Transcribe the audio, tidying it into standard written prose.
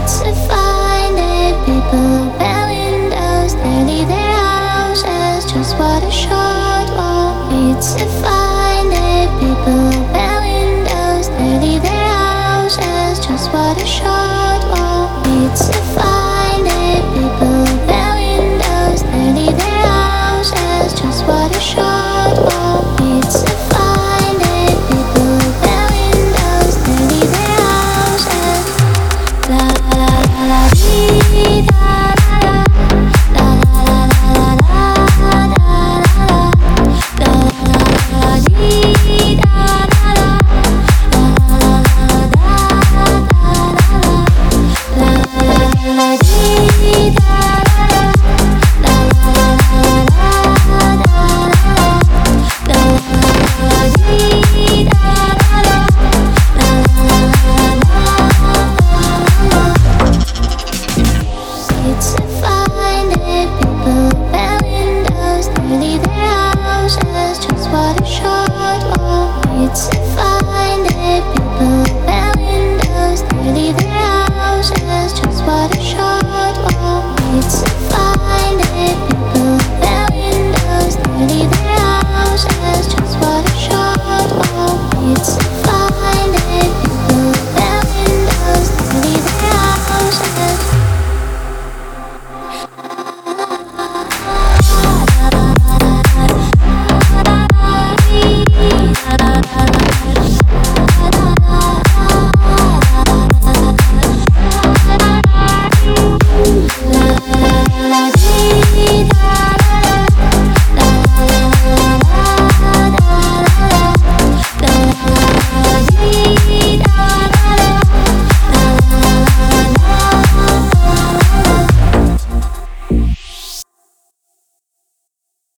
to find it. People open windows, they leave their houses. Just what a short walk. It's to find it. People open windows, they leave their houses. Just what a short walk. It's to find